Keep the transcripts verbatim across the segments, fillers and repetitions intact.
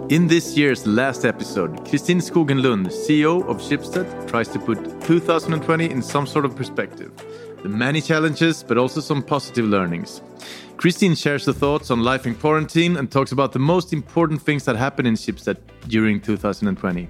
In this year's last episode, Kristin Skogen Lund, C E O of Schibsted, tries to put two thousand twenty in some sort of perspective. The many challenges, but also some positive learnings. Kristin shares her thoughts on life in quarantine and talks about the most important things that happened in Schibsted during two thousand twenty.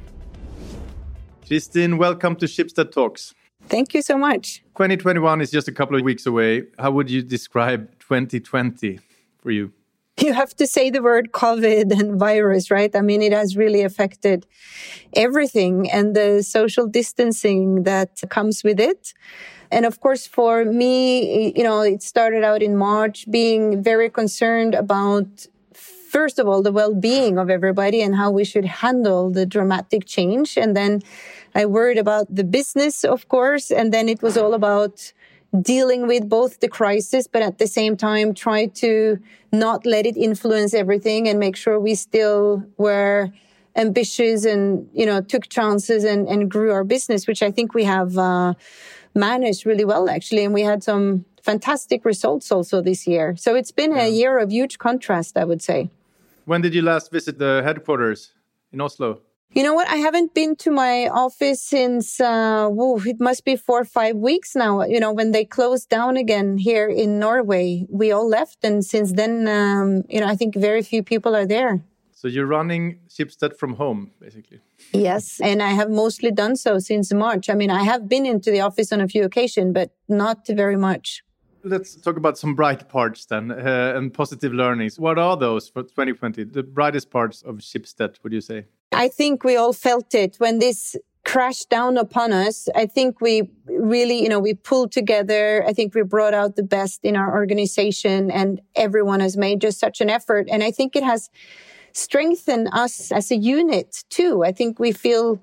Kristin, welcome to Schibsted Talks. Thank you so much. twenty twenty-one is just a couple of weeks away. How would you describe twenty twenty for you? You have to say the word COVID and virus, right? I mean, it has really affected everything and the social distancing that comes with it. And of course, for me, you know, it started out in March being very concerned about, first of all, the well-being of everybody and how we should handle the dramatic change. And then I worried about the business, of course. And then it was all about dealing with both the crisis, but at the same time, try to not let it influence everything and make sure we still were ambitious and, you know, took chances and, and grew our business, which I think we have uh, managed really well, actually. And we had some fantastic results also this year. So it's been yeah. a year of huge contrast, I would say. When did you last visit the headquarters in Oslo? You know what? I haven't been to my office since, uh, whoa, it must be four or five weeks now. You know, when they closed down again here in Norway, we all left. And since then, um, you know, I think very few people are there. So you're running Schibsted from home, basically. Yes. And I have mostly done so since March. I mean, I have been into the office on a few occasions, but not very much. Let's talk about some bright parts then uh, and positive learnings. What are those for twenty twenty? The brightest parts of Schibsted, would you say? I think we all felt it when this crashed down upon us. I think we really, you know, we pulled together. I think we brought out the best in our organization and everyone has made just such an effort. And I think it has strengthened us as a unit too. I think we feel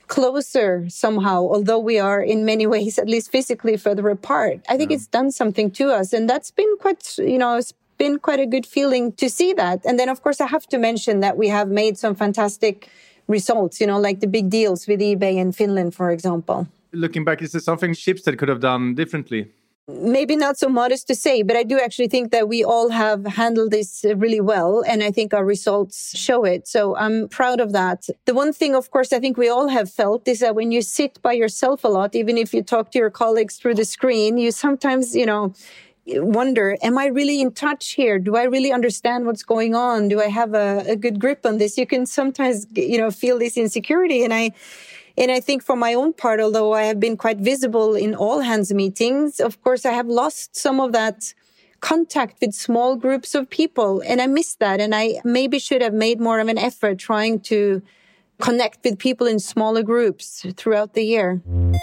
closer somehow, although we are in many ways, at least physically, further apart. I think yeah. it's done something to us. And that's been quite, you know, it's been quite a good feeling to see that. And then, of course, I have to mention that we have made some fantastic results, you know, like the big deals with eBay in Finland, for example. Looking back, is there something Schibsted could have done differently? Maybe not so modest to say, but I do actually think that we all have handled this really well. And I think our results show it. So I'm proud of that. The one thing, of course, I think we all have felt is that when you sit by yourself a lot, even if you talk to your colleagues through the screen, you sometimes, you know, wonder, am I really in touch here? Do I really understand what's going on? Do I have a, a good grip on this? You can sometimes, you know, feel this insecurity. And I, And I think for my own part, although I have been quite visible in all hands meetings, of course, I have lost some of that contact with small groups of people. And I miss that. And I maybe should have made more of an effort trying to connect with people in smaller groups throughout the year.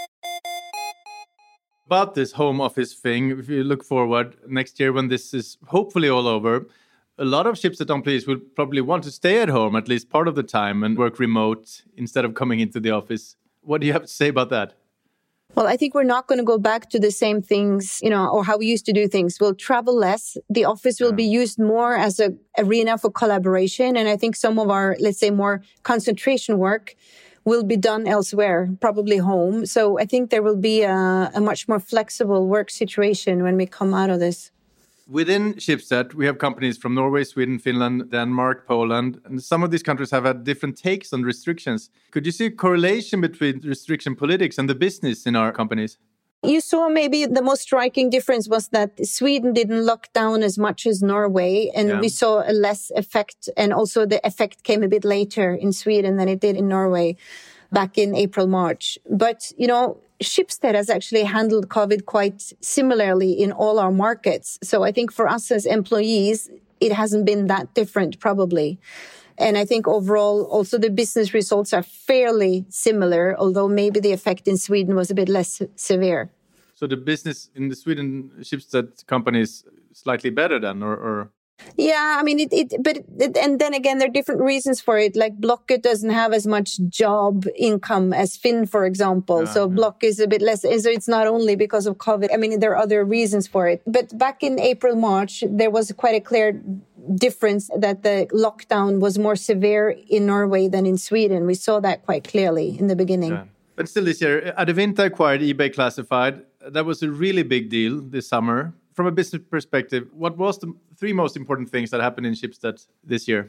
About this home office thing, if you look forward next year when this is hopefully all over, a lot of Schibsted employees will probably want to stay at home at least part of the time and work remote instead of coming into the office. What do you have to say about that? Well, I think we're not going to go back to the same things, you know, or how we used to do things. We'll travel less. The office will yeah. be used more as an arena for collaboration. And I think some of our, let's say, more concentration work will be done elsewhere, probably home. So I think there will be a, a much more flexible work situation when we come out of this. Within Schibsted, we have companies from Norway, Sweden, Finland, Denmark, Poland, and some of these countries have had different takes on restrictions. Could you see a correlation between restriction politics and the business in our companies? You saw maybe the most striking difference was that Sweden didn't lock down as much as Norway, and yeah. we saw a less effect, and also the effect came a bit later in Sweden than it did in Norway back in April, March. But, you know, Schibsted has actually handled COVID quite similarly in all our markets. So I think for us as employees, it hasn't been that different probably. And I think overall, also the business results are fairly similar, although maybe the effect in Sweden was a bit less severe. So the business in the Sweden Schibsted company is slightly better then, or... or... Yeah, I mean, it, it but, it, and then again, there are different reasons for it. Like Blocket doesn't have as much job income as Finn, for example. Yeah, so yeah. Block is a bit less. So it's not only because of COVID. I mean, there are other reasons for it. But back in April, March, there was quite a clear difference that the lockdown was more severe in Norway than in Sweden. We saw that quite clearly in the beginning. Yeah. But still this year, Adevinta acquired eBay Classified. That was a really big deal this summer. From a business perspective, what was the three most important things that happened in Schibsted this year?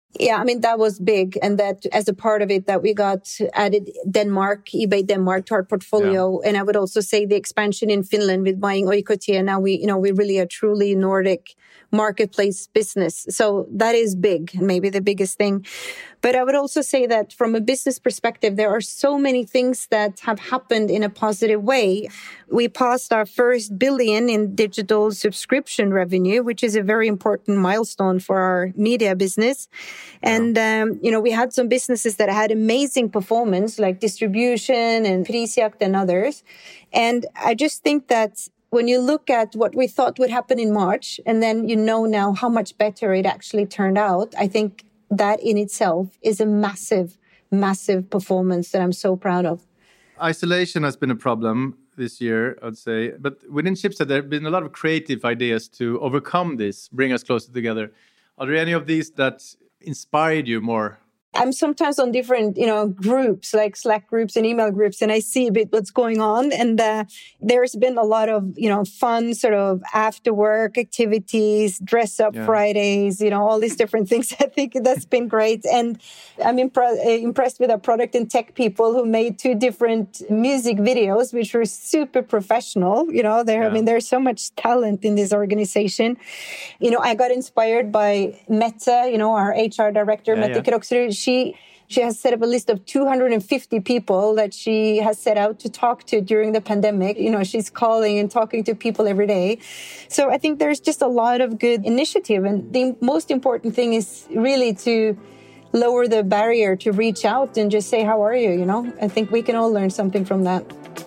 Yeah, I mean, that was big. And that as a part of it, that we got added Denmark, eBay Denmark to our portfolio. Yeah. And I would also say the expansion in Finland with buying Oikotie. And now we, you know, we really are truly Nordic marketplace business. So that is big, maybe the biggest thing. But I would also say that from a business perspective, there are so many things that have happened in a positive way. We passed our first billion in digital subscription revenue, which is a very important milestone for our media business. And, um, you know, we had some businesses that had amazing performance, like distribution and Prisjakt and others. And I just think that when you look at what we thought would happen in March, and then you know now how much better it actually turned out, I think that in itself is a massive, massive performance that I'm so proud of. Isolation has been a problem this year, I'd say. But within Schibsted, there have been a lot of creative ideas to overcome this, bring us closer together. Are there any of these that inspired you more? I'm sometimes on different, you know, groups like Slack groups and email groups, and I see a bit what's going on. And uh, there's been a lot of, you know, fun sort of after work activities, dress up yeah. Fridays, you know, all these different things. I think that's been great. And I'm impre- impressed with our product and tech people who made two different music videos, which were super professional. You know, there, yeah. I mean, there's so much talent in this organization. You know, I got inspired by Mette, you know, our H R director, yeah, Mette yeah. Kroksrud. She she has set up a list of two hundred fifty people that she has set out to talk to during the pandemic. You know, she's calling and talking to people every day. So I think there's just a lot of good initiative. And the most important thing is really to lower the barrier to reach out and just say, how are you? You know, I think we can all learn something from that.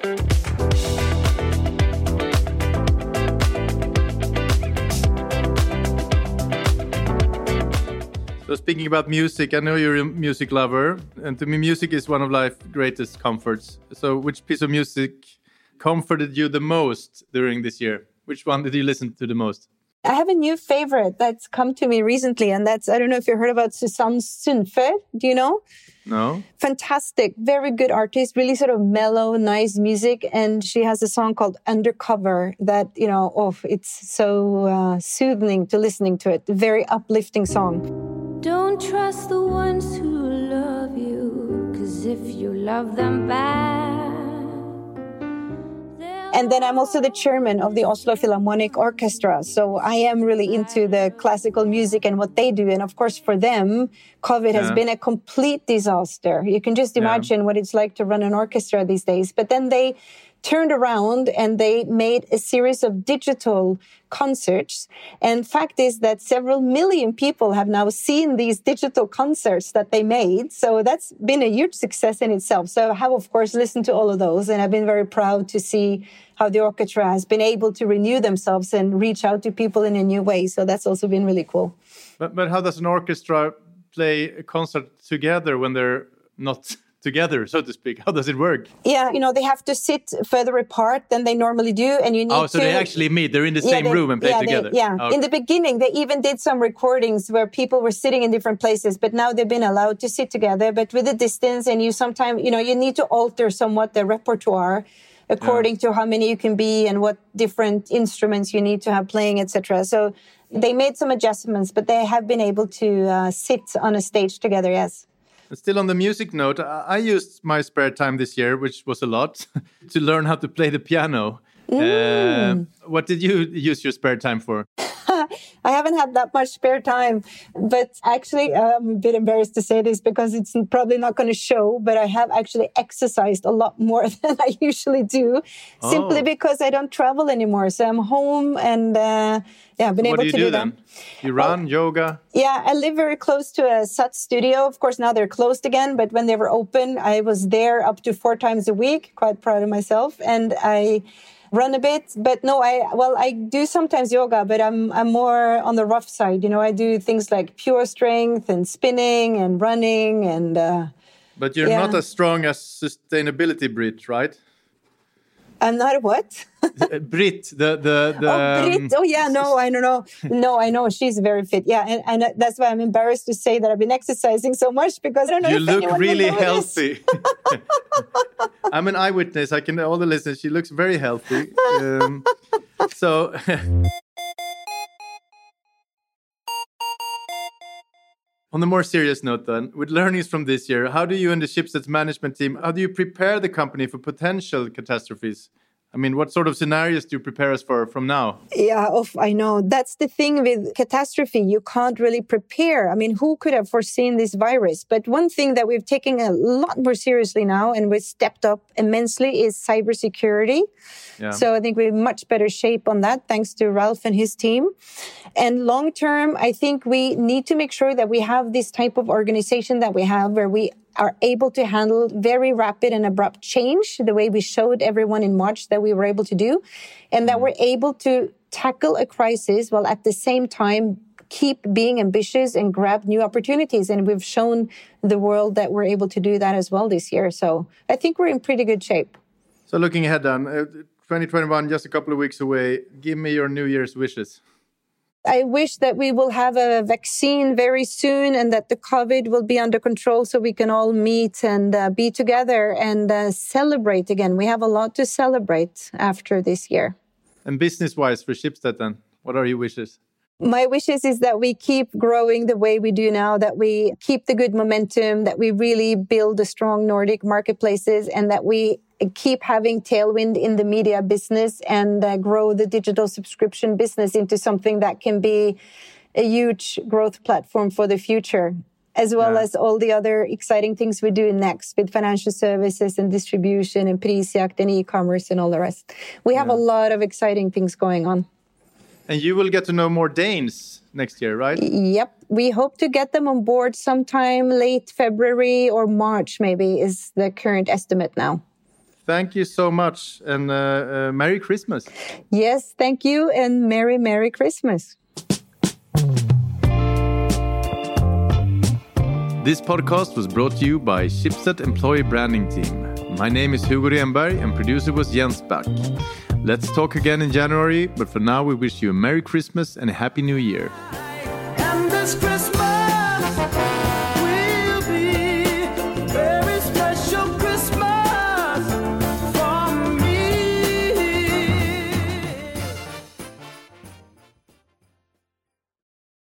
So speaking about music, I know you're a music lover, and to me, music is one of life's greatest comforts. So which piece of music comforted you the most during this year? Which one did you listen to the most? I have a new favorite that's come to me recently, and that's, I don't know if you heard about Susanne Sundfør. Do you know? No. Fantastic. Very good artist, really sort of mellow, nice music. And she has a song called Undercover that, you know, oh, it's so uh, soothing to listening to it. Very uplifting song. Don't trust the ones who love you, 'cause if you love them back. And then I'm also the chairman of the Oslo Philharmonic Orchestra. So I am really into the classical music and what they do. And of course, for them, COVID yeah. has been a complete disaster. You can just imagine yeah. what it's like to run an orchestra these days. But then they turned around and they made a series of digital concerts. And fact is that several million people have now seen these digital concerts that they made. So that's been a huge success in itself. So I have, of course, listened to all of those. And I've been very proud to see how the orchestra has been able to renew themselves and reach out to people in a new way. So that's also been really cool. But, but how does an orchestra play a concert together when they're not together, so to speak? How does it work? Yeah, you know, they have to sit further apart than they normally do. And you need Oh, so to, they actually meet. They're in the yeah, same they, room and play yeah, together. They, yeah, okay. In the beginning, they even did some recordings where people were sitting in different places, but now they've been allowed to sit together, but with a distance. And you sometimes, you know, you need to alter somewhat the repertoire according yeah. to how many you can be and what different instruments you need to have playing, et cetera. So they made some adjustments, but they have been able to uh, sit on a stage together, yes. Still on the music note, I used my spare time this year, which was a lot, to learn how to play the piano. Mm. Uh, what did you use your spare time for? I haven't had that much spare time, but actually I'm a bit embarrassed to say this because it's probably not going to show, but I have actually exercised a lot more than I usually do, oh. simply because I don't travel anymore. So I'm home and uh, yeah, I've been what able do you to do, do then? that. You run, well, yoga? Yeah, I live very close to a S U T studio. Of course, now they're closed again, but when they were open, I was there up to four times a week, quite proud of myself. And I run a bit, but no, I, well, I do sometimes yoga, but I'm, I'm more on the rough side. You know, I do things like pure strength and spinning and running and, uh, but you're yeah. not as strong as sustainability Brit, right? I'm not a what? Brit, the the the. Oh, Brit. Oh, yeah. No, I don't know. No, I know she's very fit. Yeah, and, and that's why I'm embarrassed to say that I've been exercising so much because I don't know. You if look really will healthy. I'm an eyewitness. I can all the listeners. She looks very healthy. Um, so. On the more serious note then, with learnings from this year, how do you and the Schibsted management team, how do you prepare the company for potential catastrophes? I mean, what sort of scenarios do you prepare us for from now? Yeah, oh, I know. That's the thing with catastrophe. You can't really prepare. I mean, who could have foreseen this virus? But one thing that we've taken a lot more seriously now and we've stepped up immensely is cybersecurity. Yeah. So I think we're in much better shape on that, thanks to Ralph and his team. And long term, I think we need to make sure that we have this type of organization that we have where we are able to handle very rapid and abrupt change, the way we showed everyone in March that we were able to do, and that we're able to tackle a crisis while at the same time keep being ambitious and grab new opportunities. And we've shown the world that we're able to do that as well this year. So I think we're in pretty good shape. So looking ahead then, uh, twenty twenty-one, just a couple of weeks away, give me your New Year's wishes. I wish that we will have a vaccine very soon and that the COVID will be under control so we can all meet and uh, be together and uh, celebrate again. We have a lot to celebrate after this year. And business-wise for Schibsted then, what are your wishes? My wishes is that we keep growing the way we do now, that we keep the good momentum, that we really build a strong Nordic marketplaces, and that we keep having tailwind in the media business and uh, grow the digital subscription business into something that can be a huge growth platform for the future, as well yeah. as all the other exciting things we're doing next with financial services and distribution and Prisjakt and e-commerce and all the rest. We have yeah. a lot of exciting things going on. And you will get to know more Danes next year, right? Yep. We hope to get them on board sometime late February or March, maybe, is the current estimate now. Thank you so much, and uh, uh, Merry Christmas. Yes, thank you, and Merry, Merry Christmas. This podcast was brought to you by Schibsted Employee Branding Team. My name is Hugo Renberg, and producer was Jens Back. Let's talk again in January, but for now we wish you a Merry Christmas and a Happy New Year.